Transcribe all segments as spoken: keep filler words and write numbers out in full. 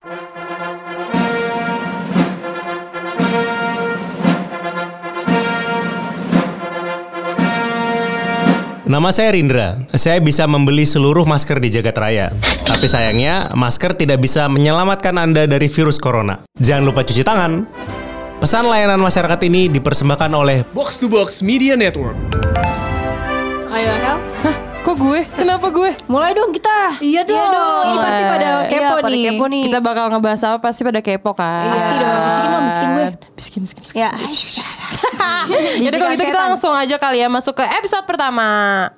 Nama saya Rindra. Saya bisa membeli seluruh masker di jagat raya. Tapi sayangnya, masker tidak bisa menyelamatkan Anda dari virus corona. Jangan lupa cuci tangan. Pesan layanan masyarakat ini dipersembahkan oleh Box to Box Media Network. Ayo, Hel. Hah? Kok gue? Kenapa gue? Mulai dong kita. Iya dong. Iya dong. Ini pasti pada kepo iya, pada nih. kepo nih. Kita bakal ngebahas apa pasti pada kepo kan. Pasti dong. Bisikin dong, bisikin gue. Bisikin, bisikin. bisikin. Ya. Jadi kalau gitu kita langsung aja kali ya masuk ke episode pertama.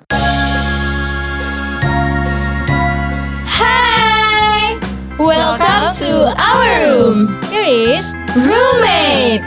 Hi, welcome to our room. Here is roommate.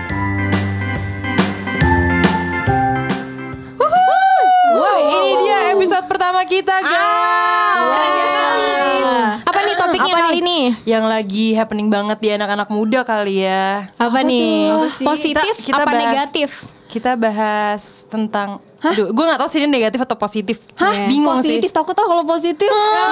Wow, ini dia episode pertama kita guys. Apa nih topiknya kali ini? Yang lagi happening banget di anak-anak muda kali ya. Apa, nih? Apa sih? Positif Kita- kita apa bahas- negatif? Kita bahas tentang, aduh, gue nggak tahu sih ini negatif atau positif. Hah? Bingung Positif, sih. takut tau kalau positif.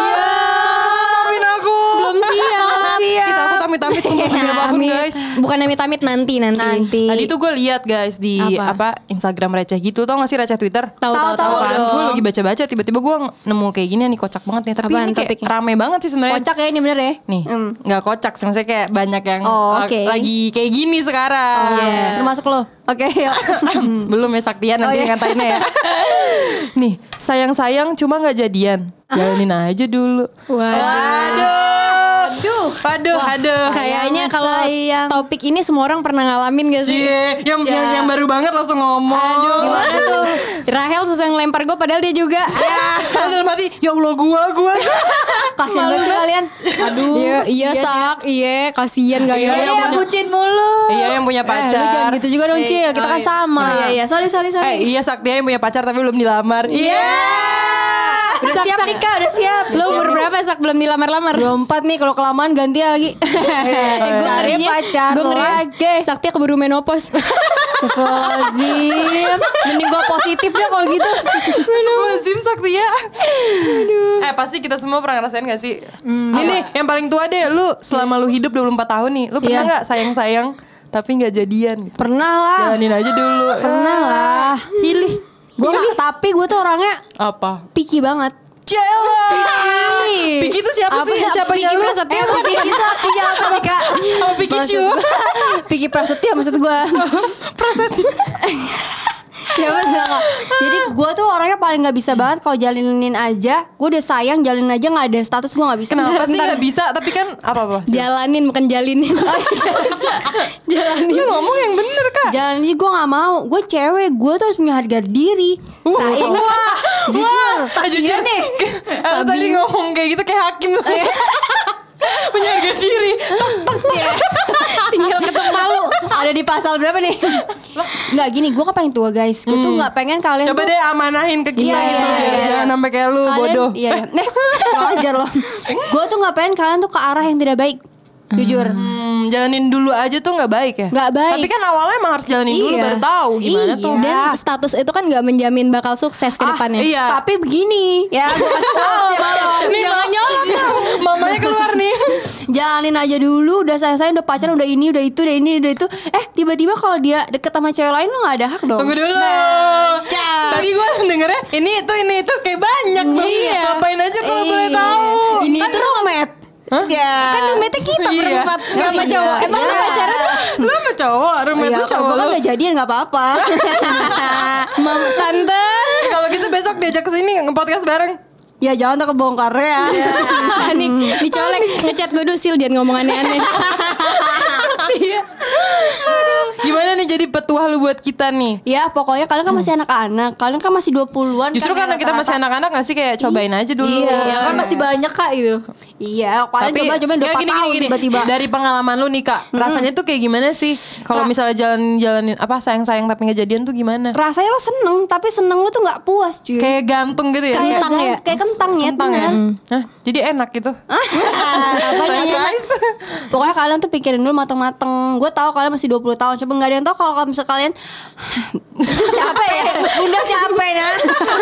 Maafin aku. Belum siap. Kita aku tamit-tamit sumpah demi apapun guys. Bukan amit-amit nanti nanti. Nanti. Tadi tuh gue lihat guys di Apa? apa? Instagram receh gitu, tau gak sih receh Twitter? Tahu tahu tahu. kan? Gue lagi baca-baca tiba-tiba gue nemu kayak gini nih, kocak banget nih. Tapi Apaan ini kayak topiknya? rame banget sih sebenarnya. Kocak ya ini bener ya. Nih, Hmm. nggak kocak sih, maksudnya kayak banyak yang Oh, la- oke. lagi kayak gini sekarang. Oh, iya. Termasuk lo. Oke, yuk. Belum ya Saktian nanti Oh, iya. yang ngatainnya ya. Nih, sayang-sayang cuma nggak jadian. Jalanin aja dulu. Waduh. Aduh. Aduh, aduh. Kayaknya Sayang, kalau sayang. topik ini semua orang pernah ngalamin gak sih? Cie, yang, Cie. yang yang baru banget langsung ngomong. Aduh, gimana tuh? Rahel susah ngelempar gue padahal dia juga. Kalau dalam hati, ya Allah gua, gua. Kasian banget sih kalian. Aduh. Iya, iya sak, iya kasihan gak ya? Iya, yang punya- bucin mulu. Iya, yang punya Eh, lu pacar. jangan gitu juga dong, Cil. Kita Oh, kan iya. sama. Iya, iya. Sorry, sorry, Eh iya Saktia yang punya pacar tapi belum dilamar. Iya. Udah siap nih, Kak. Udah siap. Lu umur berapa sak belum dilamar-lamar? dua puluh empat nih, kalau kelamaan ganti lagi. Eh, gue Cari ngerinya pacar gue ngeri lagi. Saktia keburu menopause. Astagfirullahaladzim. Mending gue positif deh kalau gitu. Astagfirullahaladzim Saktia. Aduh. Eh pasti kita semua pernah ngerasain gak sih? Ini nih yang paling tua deh. Lu selama lu hidup dua puluh empat tahun nih, lu pernah Iya. gak sayang-sayang tapi gak jadian gitu? Pernah lah. Jalanin aja dulu. Pernah lah. Pilih. Gue tapi gue tuh orangnya Apa? picky banget. Cela. Piki itu siapa sih? Siapa Piki lu? Prasetyo. Eh, Piki Prasetyo apa nih, Kak? Sama Piki Maksud Shu. gua- Piki Prasetyo maksud gue. Prasetyo. Siapa sih Kak? Jadi gue tuh orangnya paling nggak bisa banget kalau jalinin aja. Gue udah sayang jalinin aja nggak ada status gue nggak bisa. Kenapa sih Bentar. gak bisa? Tapi kan apa-apa? Jalanin bukan jalinin. Jalanin. Lu ngomong yang bener Kak. Jalanin aja gue nggak mau. Gue cewek, gue tuh harus punya harga diri. Wah, Saing. wah, Jujur. wah, jujur nih. Lu tadi ngomong kayak gitu kayak hakim. Punya harga diri. Tok, tok. Tinggal ketuk palu. Ada di pasal berapa nih? Nggak gini, gue kan pengen tua guys. Gue tuh nggak pengen kalian Coba tuh deh amanahin ke kita Iya, gitu. iya, iya, Jangan iya. sampai kayak lu kalian, bodoh. Iya, iya. Nih, kurang ajar loh. Gue tuh nggak pengen kalian tuh ke arah yang tidak baik. Jujur. Hmm, jalanin dulu aja tuh nggak baik ya? Nggak baik. Tapi kan awalnya emang harus jalanin dulu Iya. baru tahu gimana Iya. tuh. Dan status itu kan gak menjamin bakal sukses ke depannya. iya. Tapi begini, ya gue kasih tau. Nih, jangan nyolot tuh. Mamanya keluar nih. Jalanin aja dulu, udah saya-saya udah pacaran, udah ini, udah itu, udah ini, udah itu. Eh, tiba-tiba kalau dia deket sama cewek lain lo gak ada hak dong. Tunggu dulu. Cak. Tadi gue dengernya ini itu ini itu kayak banyak tuh. Iya. Ngapain aja kalau Iya. boleh tahu. Ini Kan tuh roommate. Ya. Kan roommate kita Iya. berempat gak sama Iya. cowok. Emang lu Iya. pacaran? Lu sama cowok, roommate Iya, lu kalau cowok gue kan lu. udah jadian gak apa-apa. Mam tante. Eh, Kalau gitu besok diajak ke sini nge-podcast bareng. Ya jangan tak kebongkar ya. Panik. Dicolek. Ngechat gue dulu Sil. Jangan ngomong aneh-aneh. Gimana nih jadi petuah lu buat kita nih? Ya pokoknya kalian kan masih anak-anak. Kalian kan masih dua puluhan. Justru kan, karena kita masih rata-rata. anak-anak gak sih kayak cobain aja dulu. Iya. Ya kan masih banyak kak itu. Iya, kalian coba coba udah ya, empat gini, tahun gini, gini. tiba-tiba. Dari pengalaman lu nih kak, rasanya tuh kayak gimana sih? Kalau misalnya jalan-jalanin apa sayang-sayang tapi nggak jadian tuh gimana? Rasanya lo seneng, tapi seneng lo tuh nggak puas cuy. Kayak gantung gitu ya? Kayak Kentang gan- ya? Kayak kentang ya, Kentang ya? bener. Hah, jadi enak gitu. Apanya enak? Pokoknya kalian tuh pikirin dulu mateng-mateng. Gue tahu kalian masih dua puluh tahun. Coba nggak ada yang tahu kalau kalau misalnya kalian capek ya, udah capek nah.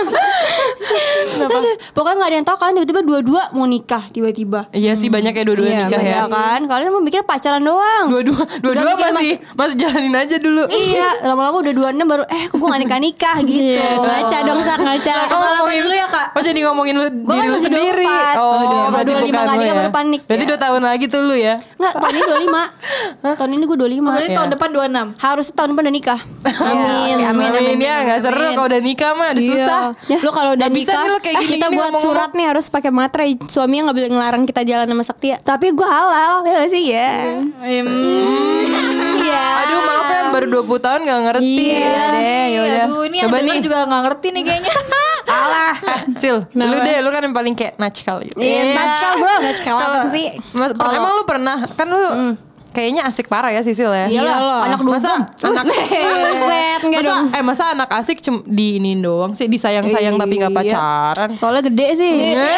Aduh, pokoknya nggak ada yang tahu kalian tiba-tiba dua-dua mau nikah tiba-tiba. Iya sih banyak ya dua-dua Iya, nikah ya. iya kan, kalian mau mikir pacaran doang. Dua-dua, dua-dua mikir masih masih jalanin aja dulu. Iya, lama-lama udah dua puluh enam baru eh kok gue gak nikah-nikah gitu. Ngaca dong Sak, ngaca. Ngomongin dulu ya, Kak. Oh jadi ngomongin lu Gua diri kan lu masih sendiri. dua puluh empat. Oh, Udah, berarti dua puluh lima bukan kali lu kan ya. baru panik. Berarti Ya. dua tahun lagi tuh lu ya. Enggak, tahun ini dua puluh lima. Tahun ini gue dua puluh lima. Berarti tahun depan dua puluh enam. Harus tahun depan udah nikah. Amin. Ya, Amin, amin, ya nggak seru kalau udah nikah mah udah susah. Ya. Lu kalau udah Nggak bisa nikah, nih lu kayak gini kita gini buat ngomong-ngomong. surat nih harus pakai materai. Suaminya nggak boleh ngelarang kita jalan sama Saktia. Tapi gue halal ya gak sih ya. Iya. Aduh maaf ya baru dua puluh tahun nggak ngerti. Iya deh, yaudah. Aduh ini Coba yang denger nih. juga gak ngerti nih kayaknya. Alah, eh, Sil, lu deh, lu kan yang paling kayak natchkal gitu. Iya, natchkal, bro. Natchkal apa Kalau- sih? Mas, per- emang lu pernah kan lu kayaknya asik parah ya Sisil ya. Iyalah, anak Masa dugem. anak Buset, enggak masa, dong. eh masa anak asik cuma diinin doang sih, disayang-sayang tapi nggak pacaran. Soalnya gede sih.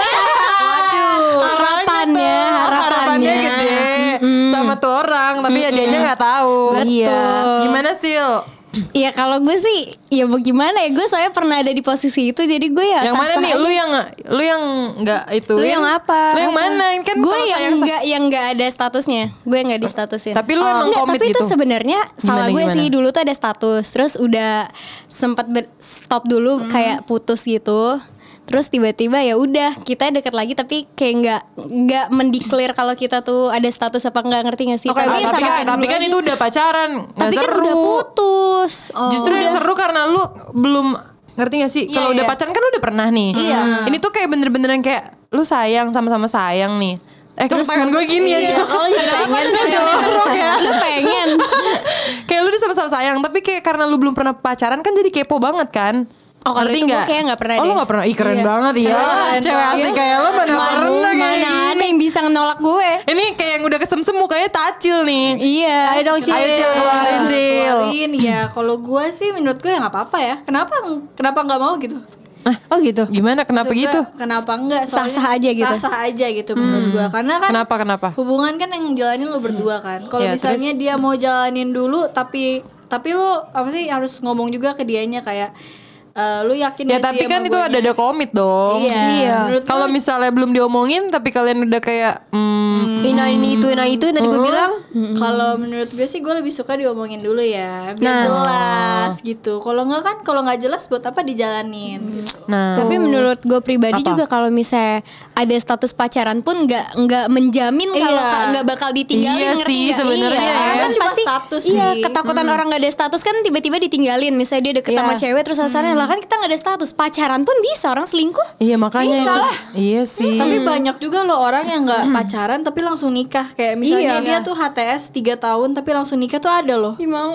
Harapannya, harapannya harapannya. gede sama tuh orang, tapi ya dianya nggak tahu. Iya. Gimana Sil? Ya kalau gue sih ya bagaimana ya, gue soalnya pernah ada di posisi itu, jadi gue ya Yang mana sah-sah nih? aja. Lu yang lu yang nggak itu? Lu yang apa? Lu yang mana? Kan Gue kalau yang sayang- enggak yang enggak ada statusnya. Gue yang enggak di statusin. Tapi lu emang Enggak, komit tapi itu gitu? sebenarnya salah Gimana, gue gimana? sih. Dulu tuh ada status, terus udah sempat ber- stop dulu kayak putus gitu. Terus tiba-tiba ya udah kita deket lagi, tapi kayak nggak nggak mendeklar kalau kita tuh ada status apa nggak, ngerti nggak sih? Oke, Ah, Tapi tapi sama kan, kayak tapi dulu kan aja. itu udah pacaran, nggak Tapi kan seru. udah putus. Oh, Justru yang udah. seru karena lu belum ngerti gak sih? Kalau Iya, udah iya. pacaran kan lu udah pernah nih. Iya. Ini tuh kayak bener-bener yang kayak lu sayang sama-sama sayang nih. Eh terus tangan gue gini Iya, aja. kalau juga pengen jorok ya. Lu pengen. Kayak lu udah sama-sama sayang, tapi kayak karena lu belum pernah pacaran kan jadi kepo banget kan. Oh, kalau Ngerti itu gue kayak nggak pernah Oh lu deh. gak pernah? Ih keren Iya. banget ya. Keren Cewek banget. asik kayak lu mana Mana- pernah kayak Mana gini. ada yang bisa nolak gue? Ini kayak yang udah kesem-sem mukanya tacil nih. Iya. Ayo dong, Cil. Ayo Cil keluarin Cil. Keluarin ya. Kalau gue sih menurut gue ya nggak apa-apa ya. Kenapa kenapa nggak mau gitu? Oh gitu. Gimana kenapa Maksud gitu? gue, Kenapa enggak? Sah-sah aja gitu. Sah-sah aja gitu menurut gue. Karena kan Kenapa kenapa? hubungan kan yang jalanin lu berdua kan. Kalau Ya, misalnya dia mau jalanin dulu tapi tapi lu apa sih harus ngomong juga ke dianya kayak eh, lu yakin Ya gak tapi sih kan sama itu guanya? ada ada komit dong. Iya. Iya. Menurut Kalau gue misalnya belum diomongin tapi kalian udah kayak hmm, Ina ini itu, ina itu yang tadi gue bilang. kalau menurut gue sih gue lebih suka diomongin dulu ya biar Nah. jelas gitu. Kalau nggak kan kalau nggak jelas buat apa dijalanin? Gitu. nah Tapi menurut gue pribadi Apa? juga kalau misalnya ada status pacaran pun nggak nggak menjamin kalau Iya. ka- nggak bakal ditinggalin. Iya ngerti sih, nggak? sebenarnya Iya, ya. kan Cuma pasti status iya, sih. ketakutan orang nggak ada status kan tiba-tiba ditinggalin. Misalnya dia deket sama Iya. cewek terus alasannya lah kan kita nggak ada status, pacaran pun bisa orang selingkuh. iya makanya Bisa itu lah. iya sih. Tapi banyak juga loh orang yang nggak pacaran tapi langsung nikah. Kayak misalnya Iya. dia tuh H T S tiga tahun tapi langsung nikah tuh ada loh. Ih, mau.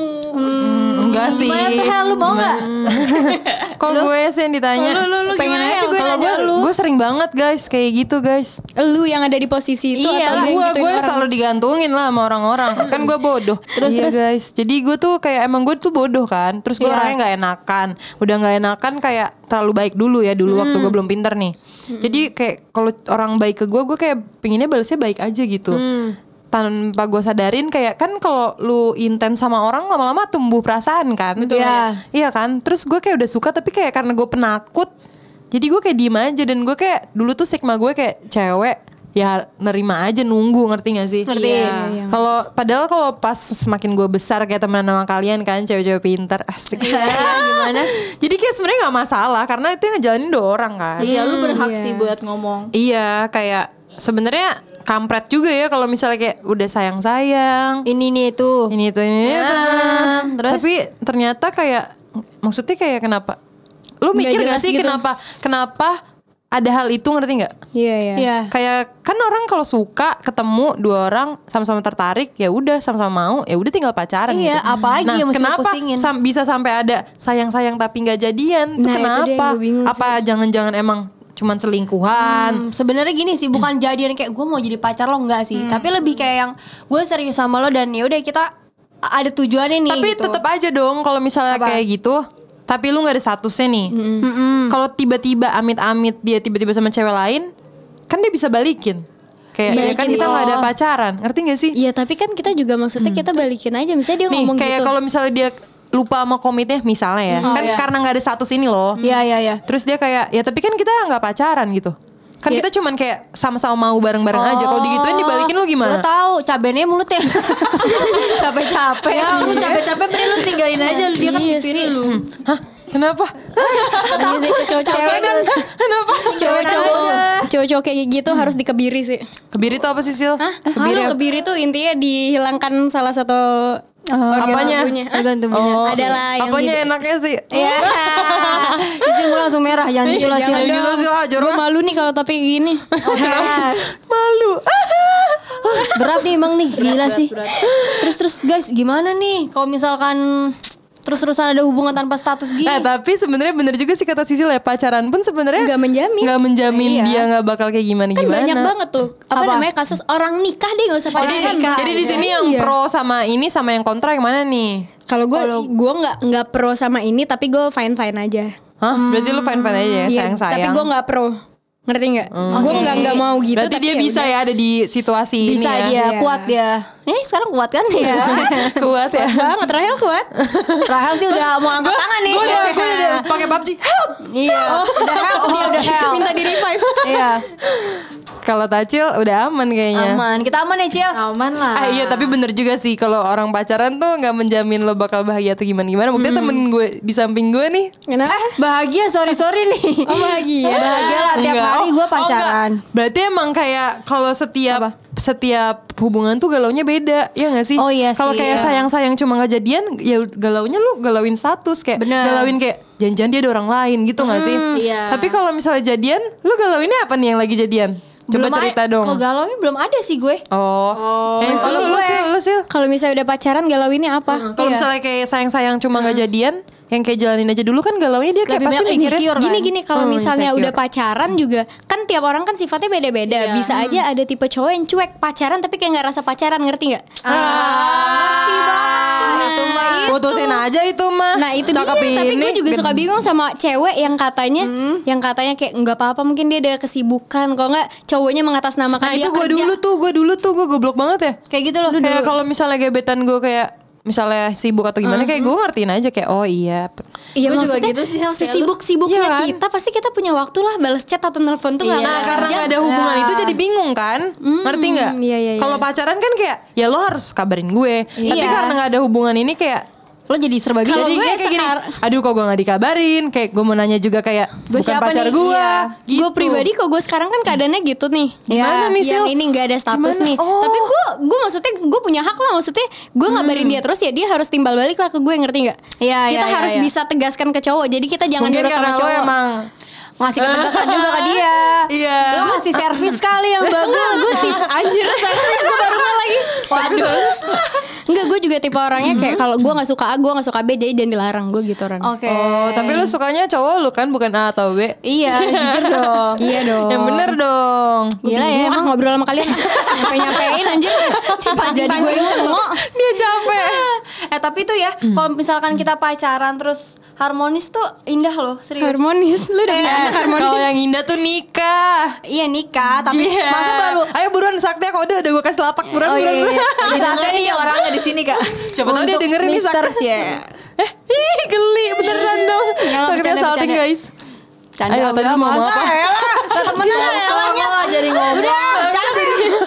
enggak sih. Gimana tuh Hel, lu mau nggak? Kok gue sih yang ditanya? Lu lu lu Pengen gimana aja tuh gue Kalau nanya gue lu. gue sering banget guys kayak gitu guys. Lu yang ada di posisi itu Iya, atau lu yang Gue gituin gue orang? selalu digantungin lah sama orang-orang. Kan gue bodoh. Terus iya, guys. Jadi gue tuh kayak emang gue tuh bodoh kan. Terus gue Iya. orangnya nggak enakan. Udah nggak enakan kayak terlalu baik dulu ya dulu waktu gue belum pinter nih. Jadi kayak kalau orang baik ke gue, gue kayak pinginnya balasnya baik aja gitu. Tanpa gue sadarin kayak kan kalau lu intens sama orang lama-lama tumbuh perasaan kan. Betul. Iya. Iya kan. Terus gue kayak udah suka tapi kayak karena gue penakut. Jadi gue kayak diem aja dan gue kayak dulu tuh stigma gue kayak cewek ya nerima aja nunggu, ngerti gak sih? Ngerti. Iya. Kalau padahal kalau pas semakin gue besar kayak teman sama kalian kan cewek-cewek pintar asik. Gimana? Jadi kayak sebenarnya nggak masalah karena itu yang ngejalanin dua orang kan. Iya lu berhak sih buat ngomong. Iya kayak sebenarnya kampret juga ya kalau misalnya kayak udah sayang-sayang. Ini nih itu. Ini itu ini itu. terus? Tapi ternyata kayak maksudnya kayak kenapa? Lu Nggak mikir gak jelas sih gitu. kenapa kenapa ada hal itu, ngerti nggak? Iya, iya. Iya. Kayak kan orang kalau suka ketemu dua orang sama-sama tertarik ya udah sama-sama mau ya udah tinggal pacaran Iya, gitu. apa lagi nah, yang mesti kenapa pusingin? sam- bisa sampai ada sayang-sayang tapi nggak jadian? Itu Nah, itu dia yang kenapa? gue bingung Apa jangan-jangan emang cuman selingkuhan? Hmm, sebenarnya gini sih, bukan jadian kayak gue mau jadi pacar lo enggak sih, tapi lebih kayak yang gue serius sama lo dan ya udah kita ada tujuannya nih. Tapi gitu. tetap aja dong kalau misalnya Apa? kayak gitu. Tapi lu nggak ada statusnya nih. Kalau tiba-tiba amit-amit dia tiba-tiba sama cewek lain, kan dia bisa balikin. Kayak ya kan kita nggak ada pacaran, ngerti gak sih? Iya tapi kan kita juga maksudnya kita balikin aja. Misalnya dia Nih ngomong kayak gitu. kalau misalnya dia lupa sama komitnya misalnya ya, kan iya. karena nggak ada status ini loh. Iya iya iya. Terus dia kayak ya tapi kan kita nggak pacaran gitu. Kan Ya. kita cuman kayak sama-sama mau bareng-bareng aja. Kalau digituin dibalikin lu Gue gimana? tahu cabenya mulut ya. Capek-capek. Ya lu capek-capek mending lu tinggalin aja lu, dia kan Iya gituin sih. lu. Hah? Kenapa? Iya sih cowok-cowok kan Kenapa? cowok-cowok cowok-cowok kayak gitu harus dikebiri sih. Kebiri itu apa sih Sil? Hah? Kebiri apa? Kebiri tuh intinya dihilangkan salah satu organ Apanya? tubuhnya. Hah? Organ tubuhnya. Oh, Adalah yang apanya gitu. enaknya sih? Iya. Isi gue langsung merah jangan gitu lah. Jangan Sil. gitu Sil, ah, Gue jorok. malu nih kalau topik gini. Oke. Malu. Berat nih emang nih, gila sih. Terus terus guys, gimana nih kalau misalkan terus-terusan ada hubungan tanpa status gini? Nah tapi sebenarnya bener juga sih kata Sisil ya, pacaran pun sebenarnya Nggak menjamin. nggak menjamin Iya. dia nggak bakal kayak gimana Kan gimana. banyak banget tuh apa, Apa? namanya kasus orang nikah deh nggak usah Jadi, pacaran. jadi di sini yang Iya. pro sama ini sama yang kontra yang mana nih? Kalau gue gue nggak nggak pro sama ini tapi gue fine fine aja. Hah? Berarti lu fine fine aja ya, Iya, sayang sayang. Tapi gue nggak pro. Ngerti nggak? Gue nggak nggak mau gitu. Berarti tapi dia ya bisa udah. ya ada di situasi Bisa ini ya. dia, Iya. kuat dia. Eh sekarang kuat kan ya? Kuat ya. Banget Rahel kuat. Rahel sih udah mau angkat tangan nih. Gue udah gue udah pakai P U B G. Help. Iya, udah help, dia udah help. Minta di revive. Iya, Kalau Tacil udah aman kayaknya. aman. Kita aman ya, Cil? Aman lah. Ah, iya tapi bener juga sih kalau orang pacaran tuh nggak menjamin lo bakal bahagia atau gimana gimana. Buktinya temen gue di samping gue nih. Kenapa? Bahagia, sorry sorry nih. Oh bahagia. Bahagia lah tiap Enggak. hari Oh, gue oh, pacaran. enggak. Berarti emang kayak kalau setiap setiap hubungan tuh galaunya beda, ya nggak sih? Oh, iya Kalau sih, kayak iya. sayang-sayang cuma nggak jadian, ya galaunya lu galauin status kayak Bener. galauin kayak jangan-jangan dia ada orang lain gitu nggak sih? iya. Tapi kalau misalnya jadian, lu galauinnya apa nih yang lagi jadian? Coba Belum cerita ada- dong. Kalau galau ini belum ada sih gue. Oh, eh, Kalau lu, lu, gue- sih, lu sih. Kalau misalnya udah pacaran galau ini apa? Kalau Iya. misalnya kayak sayang-sayang cuma nggak jadian, yang kayak jalanin aja dulu kan galaunya dia kayak Lebih pasti banyak mikirnya insecure kan? Gini gini kalau Hmm, misalnya insecure. udah pacaran juga kan tiap orang kan sifatnya beda-beda. Bisa aja ada tipe cowok yang cuek pacaran tapi kayak nggak rasa pacaran, ngerti nggak? Ah, putusin aja itu mah. Nah itu dia. Cakep Tapi gue ini. juga suka bingung sama cewek yang katanya, yang katanya kayak nggak apa-apa mungkin dia ada kesibukan. Kalau nggak cowoknya mengatasnamakan Nah dia itu gue kerja. dulu tuh, gue dulu tuh gue goblok banget ya. Kayak gitu loh. Kayak kalau misalnya gebetan gue kayak misalnya sibuk atau gimana, kayak gue ngertiin aja kayak oh iya. Iya Gua juga maksudnya gitu sih, Hel, kayak lu. sesibuk-sibuknya Iya kan? kita pasti kita punya waktu lah balas chat atau nelfon tuh nggak Nah nggak karena sejam. gak ada hubungan itu jadi bingung kan, ngerti nggak? iya, iya, iya. Kalau pacaran kan kayak ya lo harus kabarin gue, tapi Iya. karena gak ada hubungan ini kayak Lo jadi serba Kalau bingung. jadi gue kayak, kayak gini, sekar- aduh kok gue gak dikabarin, kayak gue mau nanya juga kayak Gue bukan siapa pacar nih? gue. Iya. Gitu. Gue pribadi kok gue sekarang kan keadaannya gitu nih. Gimana nih, Sil? Yang ini nggak ada status Gimana? nih. Oh. Tapi gue gue maksudnya gue punya hak lah, maksudnya gue ngabarin dia terus ya dia harus timbal balik lah ke gue, ngerti nggak? Iya, Kita iya, harus iya. bisa tegaskan ke cowok. Jadi kita jangan Mungkin nurut karena sama lo cowok. emang Ngasih ketegasan juga ke dia. Iya. Lo ngasih servis kali yang bagus. Gue tipe anjir servis gue baru nggak lagi. Waduh. Enggak, gue juga tipe orangnya kayak kalau gue nggak suka A, gue nggak suka B, jadi jangan dilarang, gue gitu orang. Oke. Oh, tapi lu sukanya cowok lu kan bukan A atau B? Iya, jujur dong. Iya dong. Yang bener dong. Gila ya, emang ngobrol sama kalian nyampe-nyampein anjir. Jadi gue yang cengok. Dia capek. Eh tapi tuh ya, kalau misalkan kita pacaran terus harmonis tuh indah loh, serius. Harmonis. Lu udah punya Eh, anak harmonis. Kalau yang indah tuh nikah. Iya nikah, tapi Iya. masa baru. Ayo buruan Sakti kode udah gue kasih lapak buruan Oh buruan. iya, iya. buruan. Di saatnya nih orangnya di sini kak. Siapa tahu dia Untuk dengerin nih Mister Sakti. C. Eh, ih geli beneran dong. Nggak, Sakti bercanda, salting bercanda. guys. Canda Ayo, tadi udah mau ngomong masa apa? elah. Temenan elahnya jadi ngomong. Udah, canda.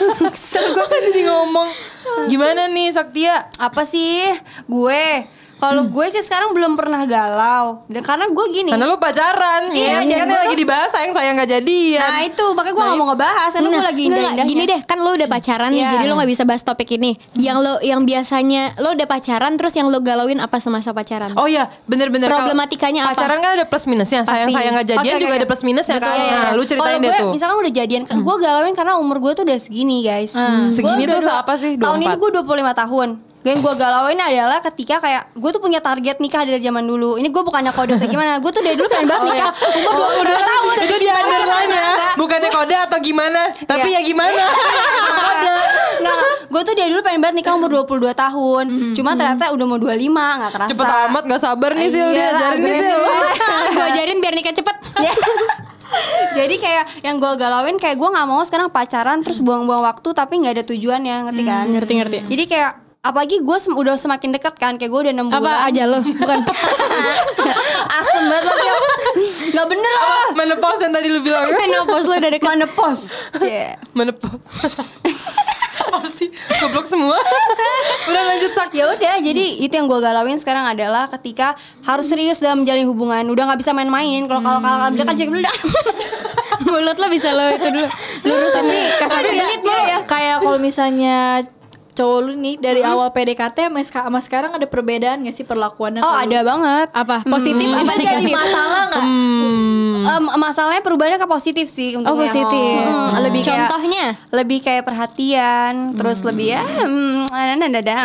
Gue kan jadi ngomong. Gimana nih Saktia? Apa sih gue? Kalau gue sih sekarang belum pernah galau. Dan karena gue gini. Karena lu pacaran. Iya, ya. dan Kan gua lagi tuh- dibahas sayang sayang gak jadian. Nah itu makanya gue gak mau ngebahas. Karena gue Nah, lagi enggak, indah-indahnya. gini deh, kan lo udah pacaran nih, Iya. jadi lo nggak bisa bahas topik ini. Yang lo, yang biasanya lo udah pacaran, terus yang lo galauin apa semasa pacaran? Oh iya, bener-bener. Kalau Problematikanya apa? Pacaran kan ada plus minusnya. Sayang-sayang gak jadian Oke, juga oke, ada plus minusnya Betul, kan. iya. Nah, lu ceritain Kalau deh gue, tuh. misalkan udah jadian, gue galauin karena umur gue tuh udah segini guys. Gue Segini udah tuh dua- apa sih? Tahun ini dua puluh empat? gue dua puluh lima tahun. Yang gue galauin adalah ketika kayak gue tuh punya target nikah dari zaman dulu. Ini gue bukannya kode atau gimana. Gue tuh dari dulu pengen banget nikah. Umur dua puluh dua tahun. Itu di underline ya. Bukannya kode atau gimana. Tapi ya gimana. Kode. Enggak, gue tuh dari dulu pengen banget nikah umur dua puluh dua tahun. Cuma ternyata udah mau dua puluh lima, gak kerasa. Cepet amat gak sabar nih Sil. Dia Iyalah, ajarin nih Sil. agresif. Gue ajarin biar nikah cepet. Ya. Jadi kayak yang gue galauin kayak gue nggak mau sekarang pacaran terus buang-buang waktu tapi nggak ada tujuannya, ngerti kan? Hmm, ngerti, ngerti. Jadi kayak apalagi gue sem- udah semakin dekat kan, kayak gue udah enam bulan. Apa aja lo? Bukan. Asem banget lo Gil. Nggak bener lah. Menopause yang tadi lu bilang. Menopause lo udah dekat. Menopause. Cie. Menopause. Apa sih? Goblok semua. Udah lanjut Sak. Ya udah, jadi itu yang gue galauin sekarang adalah ketika harus serius dalam menjalin hubungan, udah nggak bisa main-main. Kalau kalau kalau kan cek dulu dah. Mulut lo bisa lo itu dulu. Lurusin nih. Kasar Lilit dulu ya. Kayak kalau misalnya cowok lu nih dari awal P D K T sama seka- sama sekarang ada perbedaan gak sih perlakuannya? Oh ke lu? ada banget. Apa? Positif Hmm. apa Itu jadi negatif? masalah nggak? Em, masalahnya perubahannya ke positif sih. Oh, untungnya. positif. Hmm, lebih kayak- Contohnya? lebih kayak perhatian, terus lebih ya, hmm, dadam.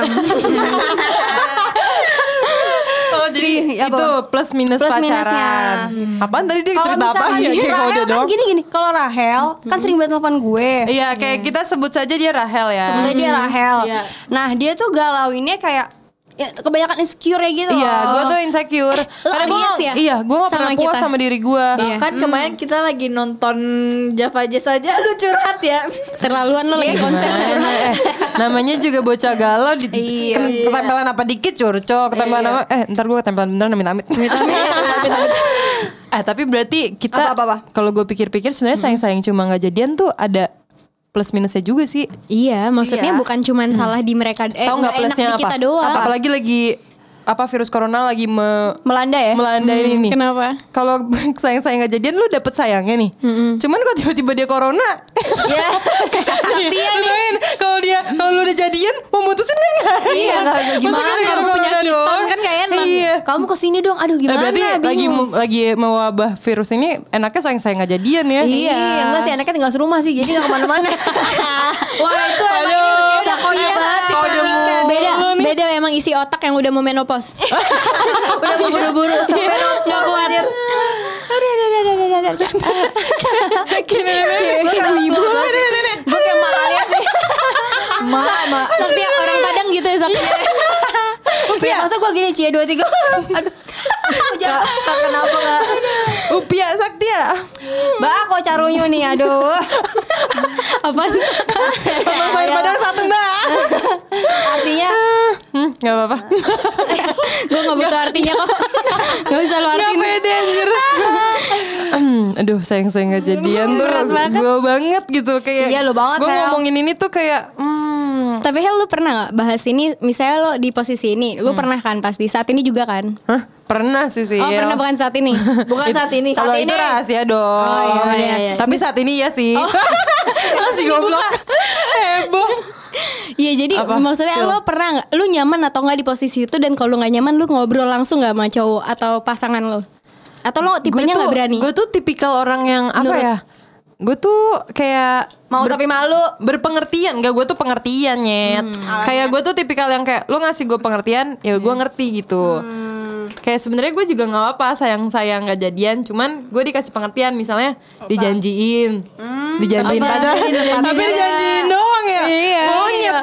Oh jadi Apa? itu plus minus Plus pacaran. minusnya. Apaan tadi dia Kalau cerita apa? misalkan Ya gini, kayak kode Rahel doang. kan gini gini. Kalau Rahel kan sering banget telepon gue. Iya kayak kita sebut saja dia Rahel ya. Sebetulnya dia Rahel. Iya. Nah dia tuh galauinnya kayak ya, kebanyakan insecure ya gitu Iya, loh. gue tuh insecure. Karena gue bias ya? iya, gue gak Sama pernah puas kita. sama diri gue. Iya. Kan kemarin kita lagi nonton Java Jazz aja lu curhat ya. Terlaluan lo lagi konser Gimana? curhat. Eh, namanya juga bocah galau di, Iya. ken- ketempelan apa dikit curcol, ketempelan apa eh ntar gue ketempelan beneran amit-amit. Eh tapi berarti kita Apa-apa-apa? kalau gue pikir-pikir sebenarnya sayang-sayang cuma nggak jadian tuh ada plus minusnya juga sih. Iya, maksudnya Iya. bukan cuman salah di mereka, eh Tahu nggak nggak enak plusnya di apa? kita doang. Apa? Apalagi lagi apa virus corona lagi me, Melanda ya. melanda ini nih. Kenapa? Kalau sayang-sayang nggak jadian lu dapet sayangnya nih. Cuman kok tiba-tiba dia corona. Ya. Dia nih. Kalau dia kalau lu udah jadian mau mutusin kan nggak? Iya, nggak- nggak gimana, Maksudnya gara-gara kamu corona penyakitan doang. kan nggak enak. Iya. Kamu kesini dong. Aduh Eh, gimana? berarti lagi Bingung. lagi mewabah virus ini enaknya sayang-sayang nggak jadian ya. Iya. Enggak sih, anaknya tinggal serumah sih, jadi nggak kemana-mana. Wah itu emang Aduh. ini udah kode Iya. banget. Kode mulu Beda, nih. beda emang isi otak yang udah mau menopause. Udah mau buru-buru. Nggak kuat. Gue kayak ibu. Gue kayak mak kalian sih. Mak, mak. Sakti orang Padang gitu ya Sakti. Ya, masa gue gini cie dua tiga. Aduh. Jangan kenapa nggak? Upia Saktia. Mbak, kok carunyu nih, aduh. Apaan? Abang bayar Padang satu mbak. Artinya Hmm, gak apa-apa. Gue gak butuh artinya kok. Gak bisa lu Gak artiin. pede anjir. Hmm, aduh sayang-sayang gak jadian tuh gue banget gitu. Kayak Iya, lu banget, gue Hel. ngomongin ini tuh kayak hmm, Tapi Hel lu pernah gak bahas ini? Misalnya lo di posisi ini, lu pernah kan pasti saat ini juga kan? hah, pernah sih sih. Oh pernah bukan saat ini. Bukan saat ini. Kalau Saat itu ini. rahasia dong. Oh, iya, iya. Tapi saat ini ya sih. Masih goblok. Heboh. Iya jadi Apa? maksudnya Cil. lo pernah gak? Lu nyaman atau gak di posisi itu? Dan kalau gak nyaman lu ngobrol langsung gak sama cowok atau pasangan lo? Atau lo tipenya gak berani? Gue tuh tipikal orang yang apa Nurut. ya? Gue tuh kayak mau tapi malu. berpengertian. Gak, gue tuh pengertian nyet. Kayak gue tuh tipikal yang kayak lu ngasih gue pengertian, ya gue ngerti gitu. Kayak sebenarnya gue juga nggak apa sayang sayang nggak jadian, cuman gue dikasih pengertian misalnya dijanjiin, dijanjiin Apa? kadang, Dijanjiin tapi juga. dijanjiin doang ya, Iya. monyet.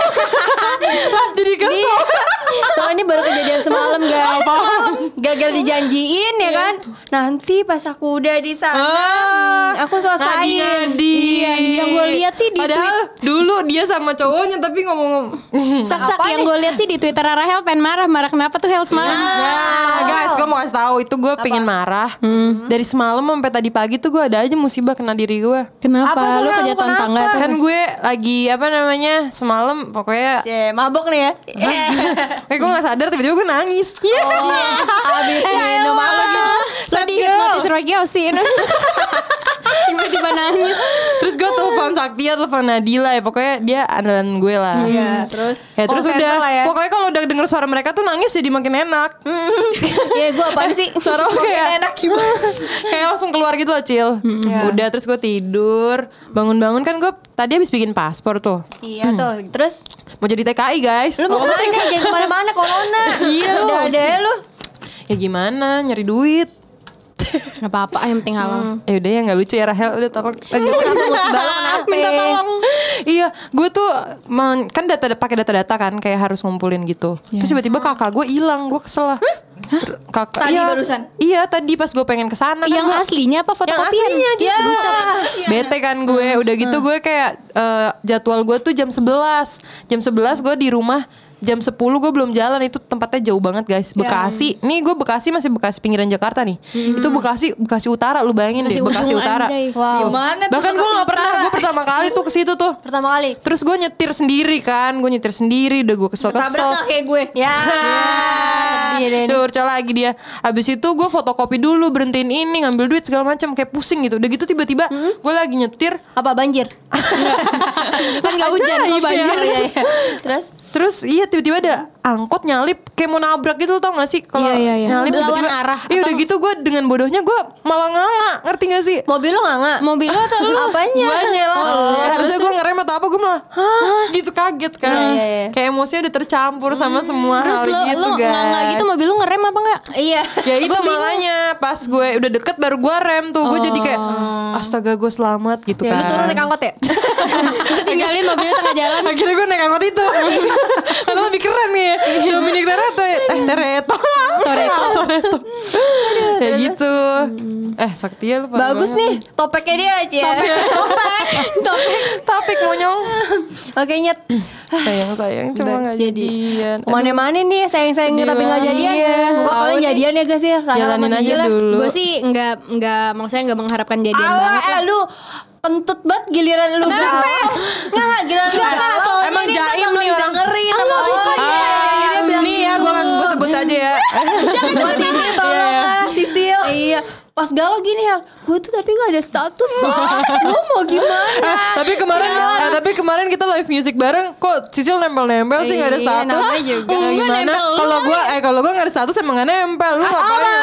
Lah jadi kesel. Soalnya ini baru kejadian semalam guys. Gagal dijanjiin ya kan. Nanti pas aku udah di sana, Ah, aku selesai. ngadi-ngadi. Iya, yang gue lihat sih di Padahal dulu dia sama cowoknya tapi ngomong Sak-sak Apa yang nih? gue lihat sih di Twitter Rahel pengen marah. Marah kenapa tuh Hel semalam? Nah, guys, gue mau kasih tahu itu gue pengen marah. Dari semalam sampai tadi pagi tuh gue ada aja musibah kena diri gue. Kenapa? Apa tuh, Lu Hel? kejatuhan Kenapa? tangga tuh? Kan gue lagi apa namanya semalam pokoknya Cie, mabok nih ya. kayak gue nggak sadar tiba-tiba gue nangis. Iya. Abis Eh, minum apa gitu. Lo dihipnotis Roy Kiyosin. Tiba-tiba nangis. Terus gue telepon Saktia, telepon Nadila ya pokoknya dia andalan gue lah. Iya, terus Ya terus call center udah lah ya. pokoknya kalau udah denger suara mereka tuh nangis jadi makin enak. Ya gue apaan sih? Suara lo kayak enak gimana? Kayak langsung keluar gitu loh Cil. Udah terus gue tidur, bangun-bangun kan gue tadi habis bikin paspor tuh. Iya tuh. Terus Mau jadi T K I guys. lu mau kemana? Jangan kemana-mana corona. Iya, Udah lu. ada ya lu. Ya gimana nyari duit. Gak apa-apa, yang penting halal. Ya udah ya nggak lucu ya Rahel, udah tolong lanjut. Minta tolong. Iya, gue tuh men- kan data pakai data-data kan kayak harus ngumpulin gitu. Terus tiba-tiba kakak gue hilang, gue kesel lah. Ter- Kakak Tadi iya, barusan? Iya tadi pas gue pengen kesana kan Yang gua- aslinya apa yang fotokopian? aslinya justru Ya. bete kan gue. Udah gitu gue kayak eh, jadwal gue tuh jam sebelas. Jam sebelas gue di rumah. Jam sepuluh gue belum jalan. Itu tempatnya jauh banget guys. Bekasi. Nih gue Bekasi masih Bekasi pinggiran Jakarta nih. Itu Bekasi Bekasi Utara. Lu bayangin Bekasi deh Bekasi ujung, Utara. anjay. Wow. Gimana tuh Bahkan gue Bekasi gak pernah. Utara? Gue pertama kali tuh ke situ tuh. Pertama kali. Terus gue nyetir sendiri kan. Gue nyetir sendiri. Udah gue Tabrak kesel-kesel. gak kayak gue? Ya. Sedih deh. Tuh urca lagi dia. Abis itu gue fotokopi dulu, berhentiin ini, ngambil duit segala macam, kayak pusing gitu. Udah gitu tiba-tiba gue lagi nyetir. Apa banjir? Kan gak hujan, Ajaib kok banjir. ya. Iya, iya. Terus Terus iya tiba-tiba ada angkot nyalip kayak mau nabrak gitu, tau gak sih? Kalau Iya, iya, iya. nyalip Lawan tiba-tiba. arah Iya udah atau- gitu gue dengan bodohnya gue malah nganga, ngerti gak sih? mobil lo nggak? Mobil lo atau lu? Apanya? Guanya lah. Oh, Ya, harusnya gue ngerem atau apa, gue malah hah gitu kaget kan. Iya, iya, iya. Kayak emosinya udah tercampur sama semua Terus hal lo, gitu lo guys. nggak gitu mobil lu ngerem apa enggak? Iya. Ya itu makanya pas gue udah deket baru gue rem tuh. Gue jadi kayak astaga gue selamat gitu Ya kan. lu turun naik angkot ya? Terus tinggalin mobilnya tengah jalan. Akhirnya gue naik angkot itu. Karena lebih keren nih. Dominic Toretto. Eh Toretto. Toretto. Toretto. Ya gitu. Eh Saktia lu parah Bagus banget. nih topeknya dia aja. Topik. Topik. Topik monyong. Oke nyet. Sayang-sayang cuma gak jadian. Kemana-mana nih sayang-sayang Sedih tapi nggak banget. jadian. Iya. Semoga kalian Tahu jadian ya guys ya. Rahel Jalanin sama aja Gila. dulu. Gue sih nggak nggak maksudnya nggak mengharapkan jadian Alah, banget lah. eh, lu kentut banget giliran lu galau. Enggak, giliran lu galau. soalnya Emang ini jaim bakal nih orang. dengerin Ah, sama lu lo. iya. Dia bilang Nih ya gue gue sebut aja ya. jangan buat ini tolong lah Sisil. Iya. Pas galau gini ya, gue tuh tapi gak ada status. Lu mau gimana? Tapi kemarin eh, tapi kemarin kita live music bareng kok Sisil nempel-nempel sih nggak ada Iya, status. namanya juga. Eh, Enggak, gimana? nempel lu Kalau gue eh kalau gue nggak ada status emang nggak nempel. Lu ngapain?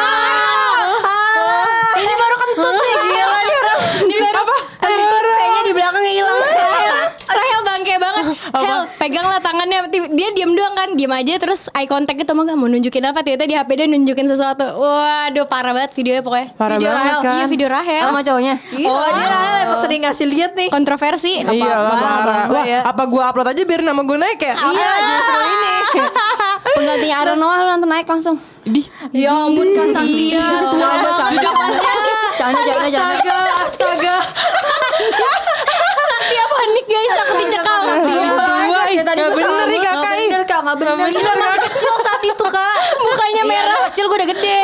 Ini baru kentut nih, gila nih orang. Ini baru Kentut kayaknya di belakangnya hilang. Rahel bangke banget. Hel, peganglah tangannya. Dia diam doang kan, diam aja terus eye contact gitu, mau mau nunjukin apa? Ternyata di H P dia nunjukin sesuatu. Waduh, parah banget videonya pokoknya. Parah video banget Rahel. kan. Iya, video Rahel. Sama cowoknya. Iya. Oh dia Rahel emang sering ngasih lihat nih. Kontroversi. Iya lah apa-apa, parah. apa-apa Wah, ya. apa gue upload aja biar nama gue naik ya? Iya, justru ini. Penggantinya Aaron Noah lu nanti naik langsung. Idih. Ya ampun Kak Saktia. Iya, Tua canda, banget canda. zamannya. Jangan, jangan, jangan. Astaga, astaga. Saktia panik guys, takut dicekal. Iya. Dua, ih, tadi nggak gua bener sama nih lu. kakak. Gak bener Kak, gak bener. Nggak Sisil bener, masih Kak. kecil saat itu Kak. Mukanya merah. Kecil gue udah gede.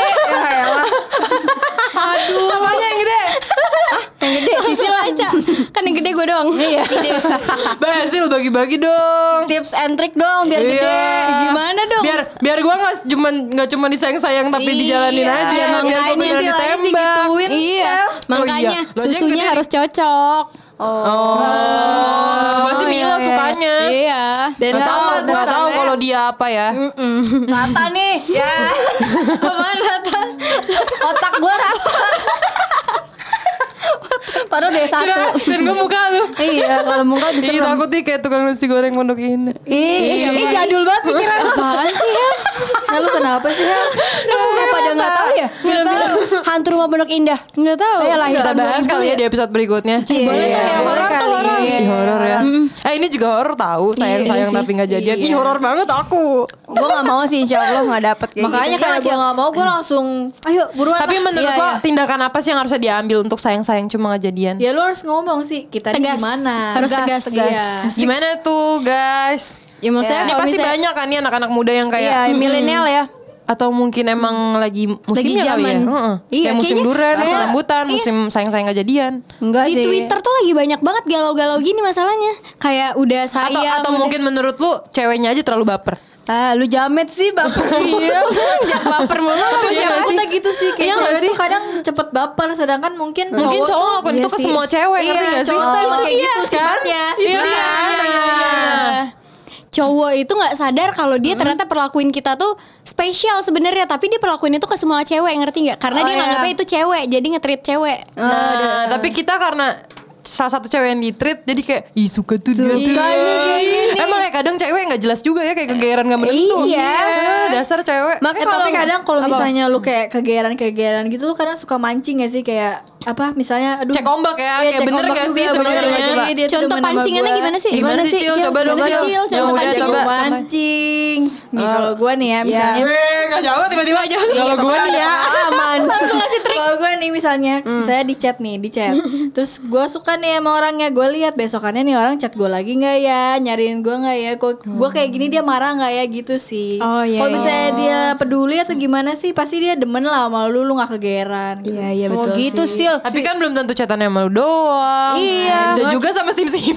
Aduh. Apanya yang gede? Yang gede Sisil aja. Kan yang gede gue doang. Iya. Basil bagi-bagi dong. Tips and trick dong biar Iya. gede. Gimana dong? Biar biar gue nggak cuma nggak cuma disayang-sayang tapi dijalanin aja. Iya, biar gue makanya beneran sih lah, ditembak. digituin. Iya, makanya iya. Lo aja yang susunya gede harus cocok. Oh, pasti Milo iya, iya. sukanya. Iya. Dan Gak tahu, apa nggak tahu kalau dia apa ya. Rata nih. Ya. Apaan Rata? Otak gue rata. Padahal udah satu. Kira, dan gue muka lu. Iya, kalau muka bisa. Ih takut nih kayak tukang nasi goreng Pondok Indah. Ih, ih jadul banget pikiran lu. Apaan sih ya? Nah, lu kenapa sih, Hel? Lu pada enggak tahu ya? Film-film Hantu Rumah Pondok Indah. Nggak tahu. Eh, lahir Kita tahun bahas dua ribu kali ya di episode berikutnya. Boleh tuh, Iya. horor tuh, horor. Ih, horor ya. Eh ini juga horor tahu, sayang-sayang Iya sih. tapi nggak jadian. Ih horor banget aku. Gue gak mau sih, insya Allah gak dapet kayak Makanya gitu. karena gue gak mau gue langsung ayo buruan Tapi lah. menurut Iya, lo iya. tindakan apa sih yang harusnya diambil untuk sayang-sayang cuma nggak jadian? Ya lu harus ngomong sih kita ini Tegas. gimana. Harus tegas. Iya. Gimana tuh guys? Ya maksudnya Ini kalau pasti misalnya banyak kan nih anak-anak muda yang kayak Iya, milenial ya. atau mungkin emang lagi musimnya kali ya? zaman. Heeh. Iya, Kayak musim kayaknya- durian, musim Iya. rambutan, musim sayang-sayang nggak jadian. Enggak di sih. Twitter tuh lagi banyak banget galau-galau gini masalahnya. Kayak udah Atau sayang. atau udah- mungkin menurut lu ceweknya aja terlalu baper. Ah, lu jamet sih, baper. Iya, jangan baper mulu. Tapi Iya sih nggak sih? kita gitu sih kayak Iya nggak cewek sih? tuh kadang cepet baper sedangkan mungkin Mungkin cowok tuh- ngelakuin iya itu ke sih. semua cewek, Iya, ngerti gak sih? cowok tuh emang kayak Iya, gitu kan? sifatnya. Iya. Iya. Cowok itu nggak sadar kalau dia ternyata perlakuin kita tuh spesial sebenarnya, tapi dia perlakuin itu ke semua cewek, ngerti nggak? Karena Oh, dia iya. nganggapnya itu cewek, jadi nge-treat cewek. Nah, tapi kita karena salah satu cewek yang di-treat jadi kayak ih suka tuh dia tuh. Suka nih kayak gini. Emang ya kadang cewek nggak jelas juga ya, kayak kegeeran nggak menentu. Iya. Eh, dasar cewek. Makanya Eh, tapi kalau- kadang kalau apa? misalnya lu kayak kegeeran-kegeeran gitu lu kadang suka mancing gak sih kayak apa misalnya aduh Cek ombak ya, Iya, kayak cek bener ombak gak juga, sih bener sebenarnya? gak sih? Dia tuh Contoh demen sama pancingannya gua. gimana sih? Gimana sih, Cil? Coba dong, Gimana, Cil. Cil? Yang Contoh udah pancing. coba. mancing nih kalau gue nih ya misalnya Eh, nggak jauh tiba-tiba aja. Kalau gue nih ya. aman. langsung ngasih trik kalau gue nih misalnya misalnya di chat nih di chat terus gue suka nih sama orangnya gue lihat besokannya nih orang chat gue lagi nggak ya nyariin gue nggak ya kok gue kayak gini dia marah nggak ya gitu sih Oh, iya, kalau iya. misalnya dia peduli atau gimana sih pasti dia demen lah sama lu lu nggak kegeran gitu. Iya iya Oh betul gitu sih. Sil. Tapi kan belum tentu chatannya sama lu doang. Iya. Bisa juga sama sim-sim.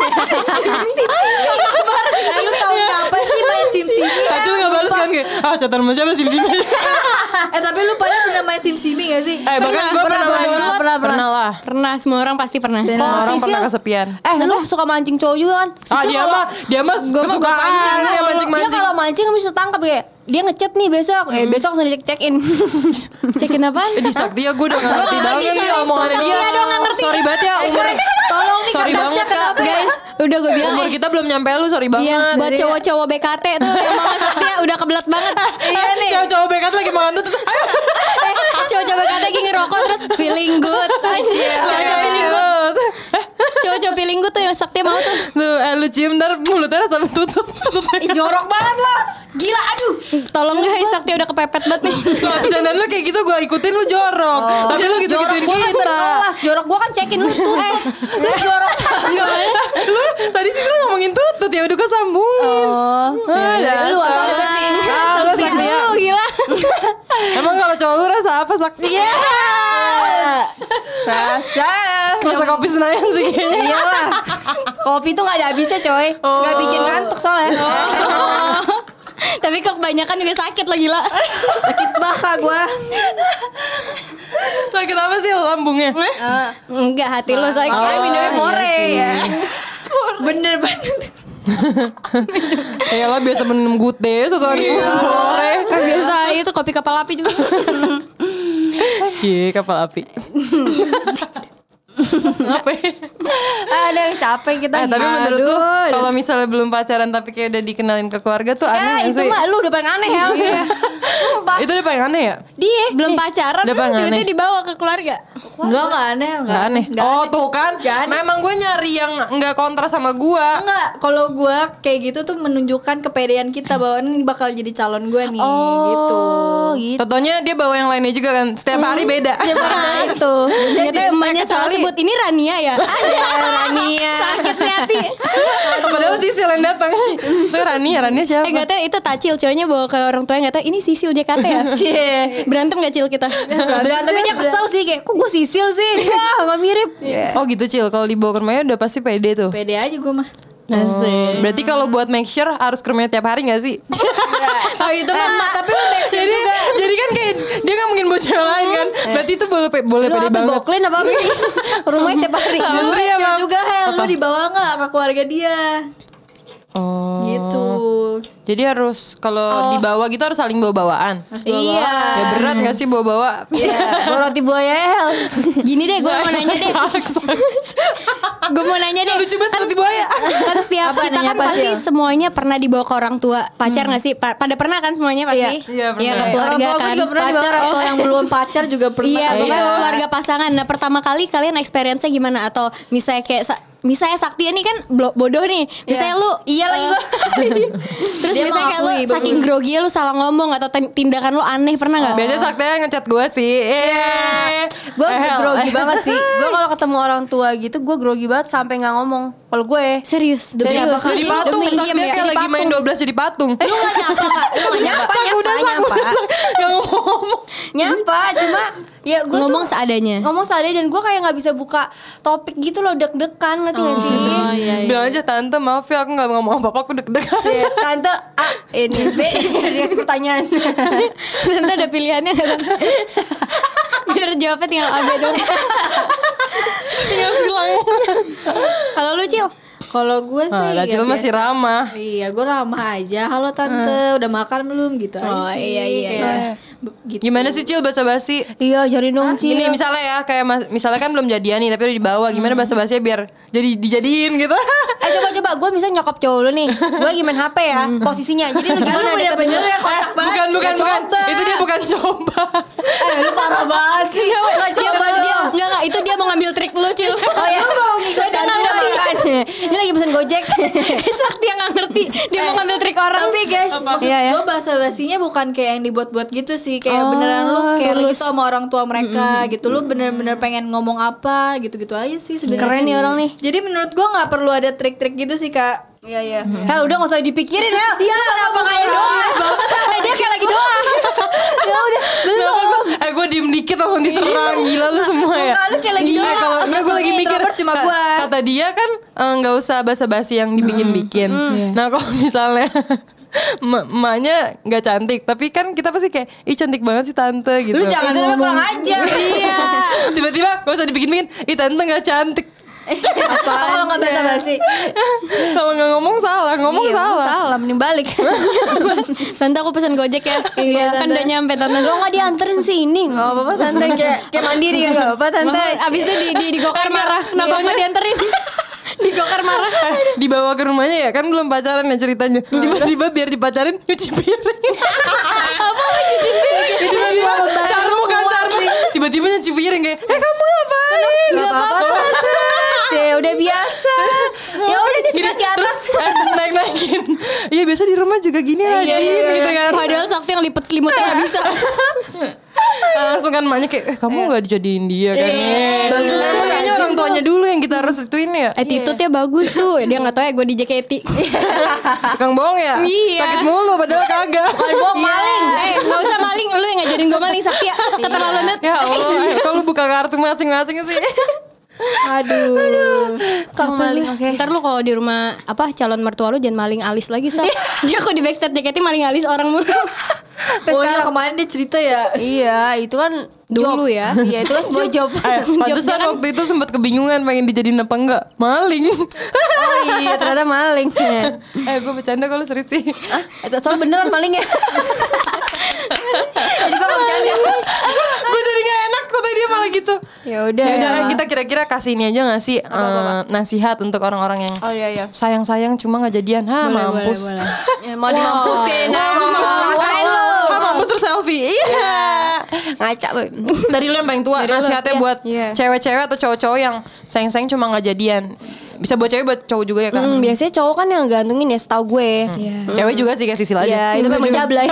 Eh, lu tahu kapan sih main sim sim Acil nggak balas kan kayak, ah chatan sama siapa sim-sim. eh tapi lu pada pernah main sim simi gak sih Eh bahkan gue pernah pernah, main. pernah, pernah, Pernah lah. Pernah, semua orang pasti pernah. Dan Semua orang Sisil- pernah kesepian. Eh lu suka mancing cowok juga kan? Ah Sisil dia kalau- mah dia mah Gua mah gua kesukaan pancing. dia Dia mancing-mancing. kalau mancing kamu bisa tangkap kayak dia ngechat nih besok. Eh besok langsung dicek check in. Cekin apaan? Eh, di Sakti ya gue udah gak ngerti banget ngerti, nih sorry, omongannya sorry, dia. iya dong, nggak ngerti. Sorry banget ya umur. tolong nih Sorry kardasnya banget kak. Guys, udah gue bilang Umur eh, kita belum nyampe lu, sorry banget. Iya, buat cowok-cowok B K T tuh yang mau masuk dia udah kebelet banget. iya nih Cowok-cowok bekat lagi makan tuh. Ayo. Eh, cowok-cowok B K T lagi ngerokok terus feeling good. Anjir, cowok-cowok feeling good. Cowok-cowok feeling good tuh yang Sakti mau tuh. Tuh, eh, lu cium ntar mulutnya sampai tutup. tutup. Ih, jorok banget lah. Gila aduh. Tolong guys, Sakti udah kepepet banget nih. Lah, bercandaan lu kayak gitu gue ikutin lu jorok. Tapi lu gitu-gituin Gua kan kita. berkelas. Jorok gua kan cekin lu tuh. Eh, lu jorok. Enggak mana? Lu tadi sih lu ngomongin tutut ya udah gue sambungin. Oh, Ah, Lu dasar. asal berarti. Ah, lu Sakti Sakti ya. lu gila. Emang kalau cowok lu rasa apa Sakti? Iya. Rasa. Rasa kopi Senayan sih kayaknya. Iyalah. Kopi tuh gak ada habisnya coy. Gak bikin ngantuk soalnya. Tapi kok kebanyakan juga sakit lah gila. Sakit baka gua. Sakit apa sih lambungnya? Enggak, hati lu sakit. Makanya minumnya fore ya. bener bener Ya lah biasa minum gute sesuatu sore. Kan biasa itu kopi kapal api juga. Cie kapal api. Apa? ya? Aduh capek kita. Eh, tapi menurut lu Aduh. kalau misalnya belum pacaran tapi kayak udah dikenalin ke keluarga tuh Ya aneh itu gak sih? mah lu udah paling aneh ya. Sumpah. Itu udah paling aneh ya? Dia Belum pacaran Udah bang, tiba-tiba aneh. dibawa ke keluarga. enggak enggak aneh Gak aneh. Nggak Oh aneh. tuh kan. Nggak aneh. Memang gue nyari yang nggak kontra sama gue. Enggak, kalau gue kayak gitu tuh menunjukkan kepedean kita bahwa ini bakal jadi calon gue nih, gitu. Oh gitu. Contohnya dia bawa yang lainnya juga kan. Setiap hari beda. Nah itu. Ternyata emaknya salah kecuali- sebut ini Rania ya. Ada Rania. Sakit sih hati. Padahal Sisil yang datang. Tuh Rania, Rania siapa? Eh gak tau itu Tacil cowoknya bawa ke orang tuanya gak tau ini Sisil J K T ya. Cie. Berantem gak Cil kita? Tapi dia kesel sih kayak kok gue sisil sih. Ya gak mirip. Oh gitu Cil, kalau dibawa ke rumahnya udah pasti pede tuh. Pede aja gue mah. Oh, berarti kalau buat make sure harus ke rumahnya tiap hari gak sih? Oh itu mah. Tapi lu make sure jadi, juga. jadi kan kayak dia gak mungkin buat cewek lain kan. Berarti itu boleh pe- boleh Lu pede apa banget. goklin apa apa sih? Rumahnya tiap hari. Lu Bener make ya, sure Bang? juga Hel, lu dibawa nggak ke keluarga dia, Oh. gitu. Jadi harus kalau dibawa gitu harus saling bawa-bawaan. Iya. Ya berat gak sih bawa-bawa? Iya. Bawa roti buaya El. Gini deh gue mau nanya deh. Gue mau nanya deh. Lucu banget roti buaya. Kan setiap Apa, kita nanya kan apa pasti sih, El? semuanya pernah dibawa ke orang tua pacar nggak sih? Pa- pada pernah kan semuanya pasti? Iya, pernah. Iya ke Iya, keluarga Orang tua kan. gue juga pernah pacar Oh. atau yang belum pacar juga pernah. Iya, pokoknya Iya. keluarga pasangan. Nah, pertama kali kalian experience-nya gimana? Atau misalnya kayak sa- misalnya Sakti ini kan blo- bodoh nih. Misalnya lu Iya lagi gua. terus Dia misalnya kayak lu mengakui, saking bagus. grogi lu salah ngomong atau tin- tindakan lu aneh pernah nggak? Biasanya Saktia ngechat gue sih. Iya. Gue Eh, Hel. grogi banget sih. Gue kalau ketemu orang tua gitu gue grogi banget sampai nggak ngomong. Kalau gue Serius? Demi Serius? apa? Jadi Demi- patung, demi Saktia diem ya? kayak Jadi lagi main patung. dua belas jadi patung. lu nggak nyapa kak? Lu nggak nyapa, Sak, nyapa, udah sak, nyapa, udah sak. Gak ngomong. nyapa. Cuma ya gue Ngomong tuh seadanya. ngomong seadanya dan gue kayak nggak bisa buka topik gitu loh deg-degan ngerti nggak sih? Oh iya iya. Bilang aja tante maaf ya aku gak ngomong apa-apa aku deg-degan. Ya, tante A ini B dia kasih pertanyaan. Tante ada pilihannya nggak Tante? Biar jawabnya tinggal A B dong. Tinggal silang. Kalau lu Cil? Kalau gue sih Ah, ya Acil masih biasa. ramah. Iya, gue ramah aja. Halo tante, udah makan belum gitu Oh, aja sih. iya, iya, Kayak, iya. be- gitu. Gimana sih Cil basa-basi? Iya, cari dong Cil. Ini misalnya ya kayak mas, misalnya kan belum jadian nih tapi udah dibawa. Gimana basa-basinya biar jadi dijadiin gitu? Eh coba-coba gue misalnya nyokap cowok lu nih. Gue lagi main H P ya posisinya. Jadi lu gimana Lu deketin bener-bener gue? ya kotak banget. bukan bukan Ya, bukan. coba. Itu dia bukan coba. Eh lu parah banget sih. Nggak Dia coba dia dia. enggak enggak itu dia mau ngambil trik lu, Cil. Oh ya, saya udah makan. Ini lagi pesen Gojek. Sakti yang enggak ngerti. Dia mau ngambil trik orang. Tapi guys, maksud Iya, ya. gue bahasa basinya bukan kayak yang dibuat-buat gitu sih. Kayak beneran lu kayak lu gitu sama orang tua mereka gitu. Lu bener-bener pengen ngomong apa gitu-gitu aja sih sebenarnya. Keren nih orang nih. Jadi menurut gue nggak perlu ada trik-trik gitu sih kak. Iya iya. Hel udah nggak usah dipikirin ya. Iya, kenapa kayak doang? Eh dia kayak lagi doang. Ya udah belum. Eh gue diem dikit langsung diserang. Gila lu semua ya. Muka lu kayak lagi Iya, doang. kalau enggak gue lagi Maksudnya mikir introvert cuma ka- gua. Kata dia kan eh, nggak usah basa-basi yang dibikin-bikin. Nah kalau misalnya em- emaknya nggak cantik, tapi kan kita pasti kayak ih cantik banget sih tante gitu. Lu jangan Itu namanya ngomong kurang ajar. Iya. Tiba-tiba gak usah dibikin-bikin, ih tante nggak cantik. Kalau nggak basa-basi. Kalau nggak ngomong salah, ngomong Iya, salah. Salah mending balik. Tante aku pesan Gojek ya. Iya, Kan Tante. udah nyampe tante. Lo nggak dianterin sih ini nggak apa-apa tante kayak kayak mandiri ya nggak apa-apa tante. Makanya abis itu di di, di gokar marah. Kenapa nggak dianterin? Di gokar marah. Eh, dibawa ke rumahnya ya kan belum pacaran ya ceritanya. Tiba-tiba biar dipacarin nyuci piring. Apa nyuci piring? Tiba-tiba carmu kan carmu. Tiba-tiba nyuci piring kayak, eh kamu ngapain? Nggak apa-apa. Cek udah biasa. Ya udah di Gini, sini di atas. terus eh, naik-naikin. Iya biasa di rumah juga gini aja gitu kan. Padahal Sakti yang lipet selimutnya nggak bisa. Ah, langsung kan emaknya kayak, eh kamu gak dijadiin dia kan. Bagus tuh. Kayaknya orang tuanya dulu yang kita harus ituin ya. Attitude-nya bagus tuh. Dia nggak tahu ya gue di J K T. Tukang bohong ya? Iya. Sakit mulu padahal kagak. Bukan bohong maling. Eh nggak usah maling. Lu yang ngajarin gue maling Sakti ya. Keterlaluan banget. Ya Allah, eh, kalau buka kartu masing-masing sih. Aduh. Kang maling oke. Ntar lu kalau di rumah apa calon mertua lu jangan maling alis lagi Sa. Dia kok di backstage J K T maling alis orang mulu. Oh iya kemarin dia cerita ya. Iya itu kan Dulu job. ya. Iya itu kan sebuah job. Eh, pantesan kan- waktu itu sempat kebingungan pengen dijadiin apa enggak. Maling. Oh iya ternyata maling. eh gue bercanda kalau serius sih. Ah, itu soalnya beneran maling ya. Jadi gue mau bercanda. Gue jadi gak enak kok tadi dia malah gitu. Ya udah. Ya udah ya. kita kira-kira kasih ini aja gak sih eh, nasihat untuk orang-orang yang Oh iya iya. sayang-sayang cuma gak jadian. Ha mampus. Ya, mau dimampusin. Ah, Rasain lu. Ha mampus terus selfie. Iya. Ngaca boy. Dari lu yang paling tua nasihatnya buat Iya. cewek-cewek atau cowok-cowok yang sayang-sayang cuma gak jadian. Bisa buat cewek buat cowok juga ya kan. Hmm, biasanya cowok kan yang gantungin ya setahu gue. Cewek juga sih kayak Sisil aja. Ya itu memang jablay.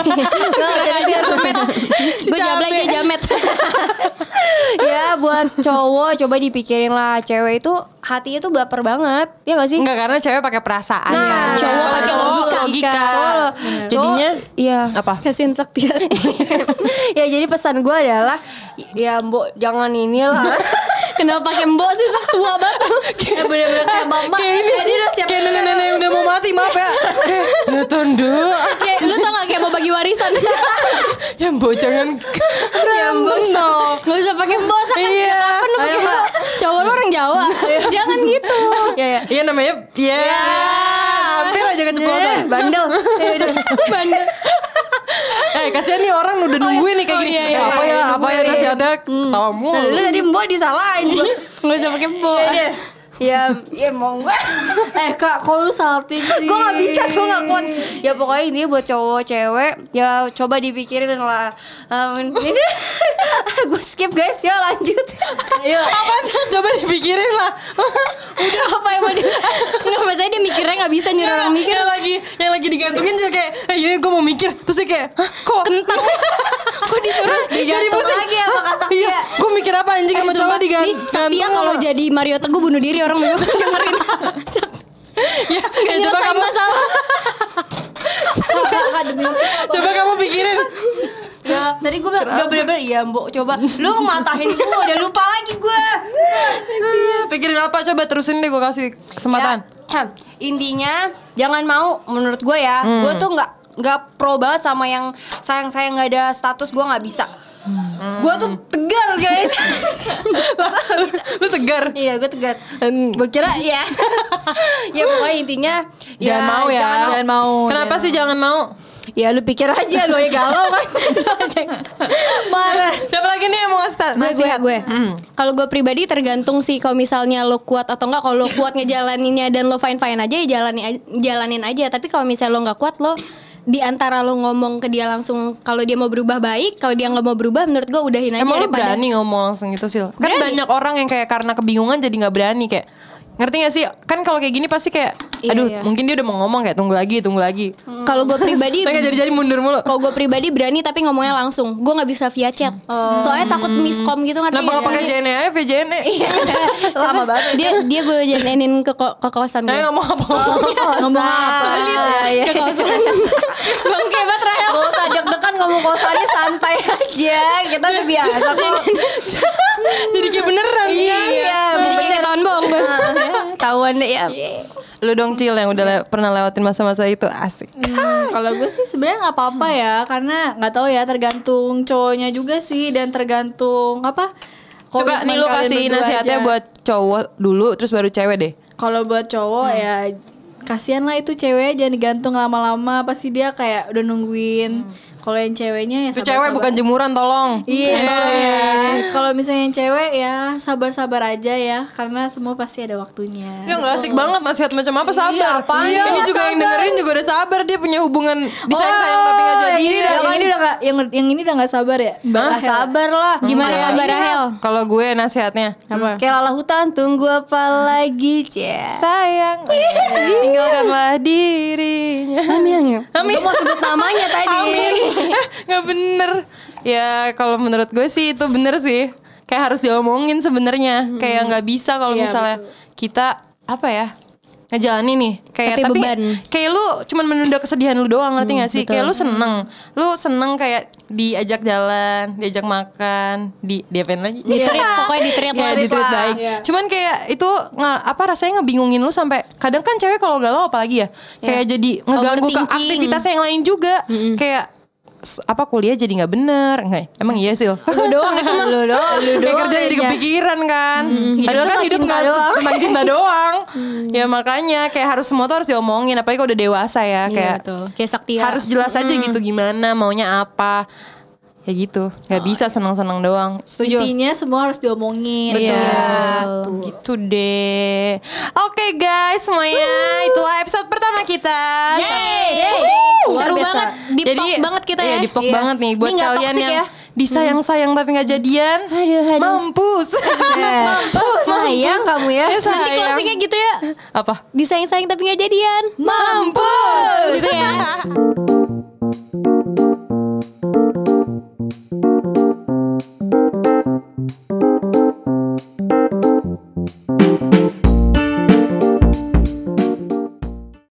Gue jablay dia jamet. Ya buat cowok coba dipikirin lah, cewek itu hatinya tuh baper banget. Ya gak sih? Enggak, karena cewek pakai perasaan Nah, ya. cowok Kalau pakai cowok logika. logika. Cowok- Jadinya cowok- iya. apa? Kasian Sakti. Ya jadi pesan gue adalah ya mbok jangan inilah. Kenapa pakai mbok sih Sak tua banget. Ya bener-bener kayak mama. Kayak ini Jadi udah siap. kayak nenek-nenek yang udah mau mati, maaf ya. Ya tondo. Kayak lu tau gak kayak mau bagi warisan. Ya mbok jangan rambut dong. Gak usah pakai mbok Sak. Iya. Kan lu pakai mbok. Cowok lu orang Jawa. Jangan gitu. Ya ya. Iya namanya ya. Hampir aja keceplosan. Bandel. Ya udah. Bandel. Eh kasihan nih orang udah nungguin nih kayak gini. iya, Eh, iya, apa iya, ya? Apa ya nungguin. nasihatnya? Ketawa mulu. Nah, lu tadi mbok disalahin. Gak usah pakai mbok. Ya, ya, ya mau gue. Eh kak, kok lu salting sih? Gue gak bisa, gue gak kuat. Ya pokoknya ini buat cowok cewek, ya coba dipikirin lah. Um, ini gue skip guys, ya lanjut. Ayo. Apa sih? Coba dipikirin lah. Udah apa yang mau di Nggak masalahnya dia mikirnya gak bisa nyuruh orang mikir. Yang lagi yang lagi digantungin juga kayak, eh iya gue mau mikir. Terus dia kayak, hah kok Kentang. Kok disuruh Digantung lagi ya sama Kak Sakti Iya, ya? gue mikir apa anjing sama cowok Nih digantung. Saktia kalau jadi Mario Teguh bunuh diri orang juga dengerin. Ya, Gak ya, coba nyelesain kamu masalah. coba kamu pikirin. Ya, tadi gue bilang, udah bener-bener, iya mbok coba. Lu matahin gue, udah lupa lagi gue. Pikirin apa coba terusin deh gue kasih kesempatan. Ya, intinya jangan mau menurut gue ya. Gue tuh nggak nggak pro banget sama yang sayang sayang nggak ada status, gue nggak bisa. Gue tuh tegar guys. Lu tegar. Iya, gue tegar. Gue kira ya. Ya pokoknya intinya Jangan mau ya. Jangan mau. Kenapa jangan sih jangan mau? Ya lu pikir aja lu ya galau kan. Marah. Siapa lagi nih yang mau ngasih ta- gue gue nasihat? gue kalau gue pribadi tergantung sih kalau misalnya lo kuat atau enggak. Kalau lo kuat ngejalaninnya dan lo fine fine aja ya jalanin jalanin aja. Tapi kalau misalnya lo nggak kuat, lo di antara lo ngomong ke dia langsung kalau dia mau berubah baik, kalau dia nggak mau berubah menurut gue udahin aja. Emang lu daripada- berani ngomong langsung gitu Sil? Kan Berani. banyak orang yang kayak karena kebingungan jadi gak berani kayak. Ngerti gak sih? Kan kalau kayak gini pasti kayak Iya, aduh iya. mungkin dia udah mau ngomong kayak tunggu lagi tunggu lagi. Kalau gue pribadi Tapi gak jadi-jadi mundur mulu. Kalau gue pribadi berani tapi ngomongnya langsung. Gue nggak bisa via chat. Soalnya takut miskom gitu ngerti Kenapa nggak gak pakai sih? J N E aja V J N E? Lama banget. Dia dia gue janenin ke ko- ke kosan gue. Saya ngomong apa? Ngomong apa? Iya. Ke kosan. Bang kebat Rahel. Gak usah deg-degan ngomong kosannya santai aja. Kita udah biasa kok. Jadi kayak beneran. Iya. Jadi kayak ketahuan bohong gue. Tahuan deh ya. Lu dong Cil yang udah le- pernah lewatin masa-masa itu asik. Hmm, kalau gue sih sebenarnya nggak apa-apa ya, karena nggak tahu ya tergantung cowoknya juga sih dan tergantung apa. Coba komitmen nih lu kalian kasih berdua nasihatnya aja. buat cowok dulu terus baru cewek deh. Kalau buat cowok ya kasihan lah itu cewek jangan digantung lama-lama, pasti dia kayak udah nungguin. Kalau yang ceweknya ya Itu sabar-sabar. cewek bukan jemuran tolong. Iya. Kalau misalnya yang cewek ya sabar-sabar aja ya, karena semua pasti ada waktunya. Ya gak asik banget nasihat macam apa sabar. apaan? Ini Iya, juga yang dengerin juga udah sabar dia punya hubungan disayang-sayang tapi gak jadi. yang ini, udah, yang ini udah gak, yang, yang ini udah gak sabar ya? Mbak Gak Rahel. sabar lah. Gimana Iya. kabar Rahel? Kalau gue nasihatnya Apa? Kayak lala hutan, tunggu apa lagi, Cia? sayang tinggalkanlah dirinya. Amin. Amin. Gue mau sebut namanya tadi. Amin. Eh, Gak bener. Ya kalau menurut gue sih itu bener sih. Kayak harus diomongin sebenarnya. Kayak nggak bisa kalau Iya, misalnya kita apa ya ngejalanin nih kayak Tapi tapi, beban. kayak lu cuman menunda kesedihan lu doang ngerti nggak sih? betul. Kayak lu seneng, lu seneng kayak diajak jalan, diajak makan, di diapain lagi? Di-treat, pokoknya di-treat ya, lah. di-treat lah. baik. Iya. Cuman kayak itu nggak apa rasanya ngebingungin lu sampai kadang kan cewek kalau galau apalagi ya kayak jadi ngeganggu ke Overthinking. aktivitasnya yang lain juga kayak s- apa kuliah jadi nggak bener nggak emang iya Sil Lu doang itu mah. Lu doang. Lu kayak doang. kerja jadi kayaknya. kepikiran kan padahal kan tentang hidup cinta nggak doang. tentang cinta doang ya makanya kayak harus semua tuh harus diomongin apalagi kalau udah dewasa ya Iya kayak betul. Kayak Saktia. harus jelas aja gitu gimana maunya apa ya gitu nggak bisa senang-senang doang Intinya semua harus diomongin. Iya, gitu deh. Oke guys, semuanya itulah episode pertama kita. Yeay. Luar Seru biasa. banget. Deep talk banget kita iya, ya. deep talk Iya. banget nih buat Ini nggak kalian toxic yang ya. disayang-sayang tapi nggak jadian. Aduh, aduh. Mampus. Oh, sayang kamu ya. Ya, Nanti sayang. closingnya gitu ya. Apa? Disayang-sayang tapi gak jadian. Mampus. Gitu ya.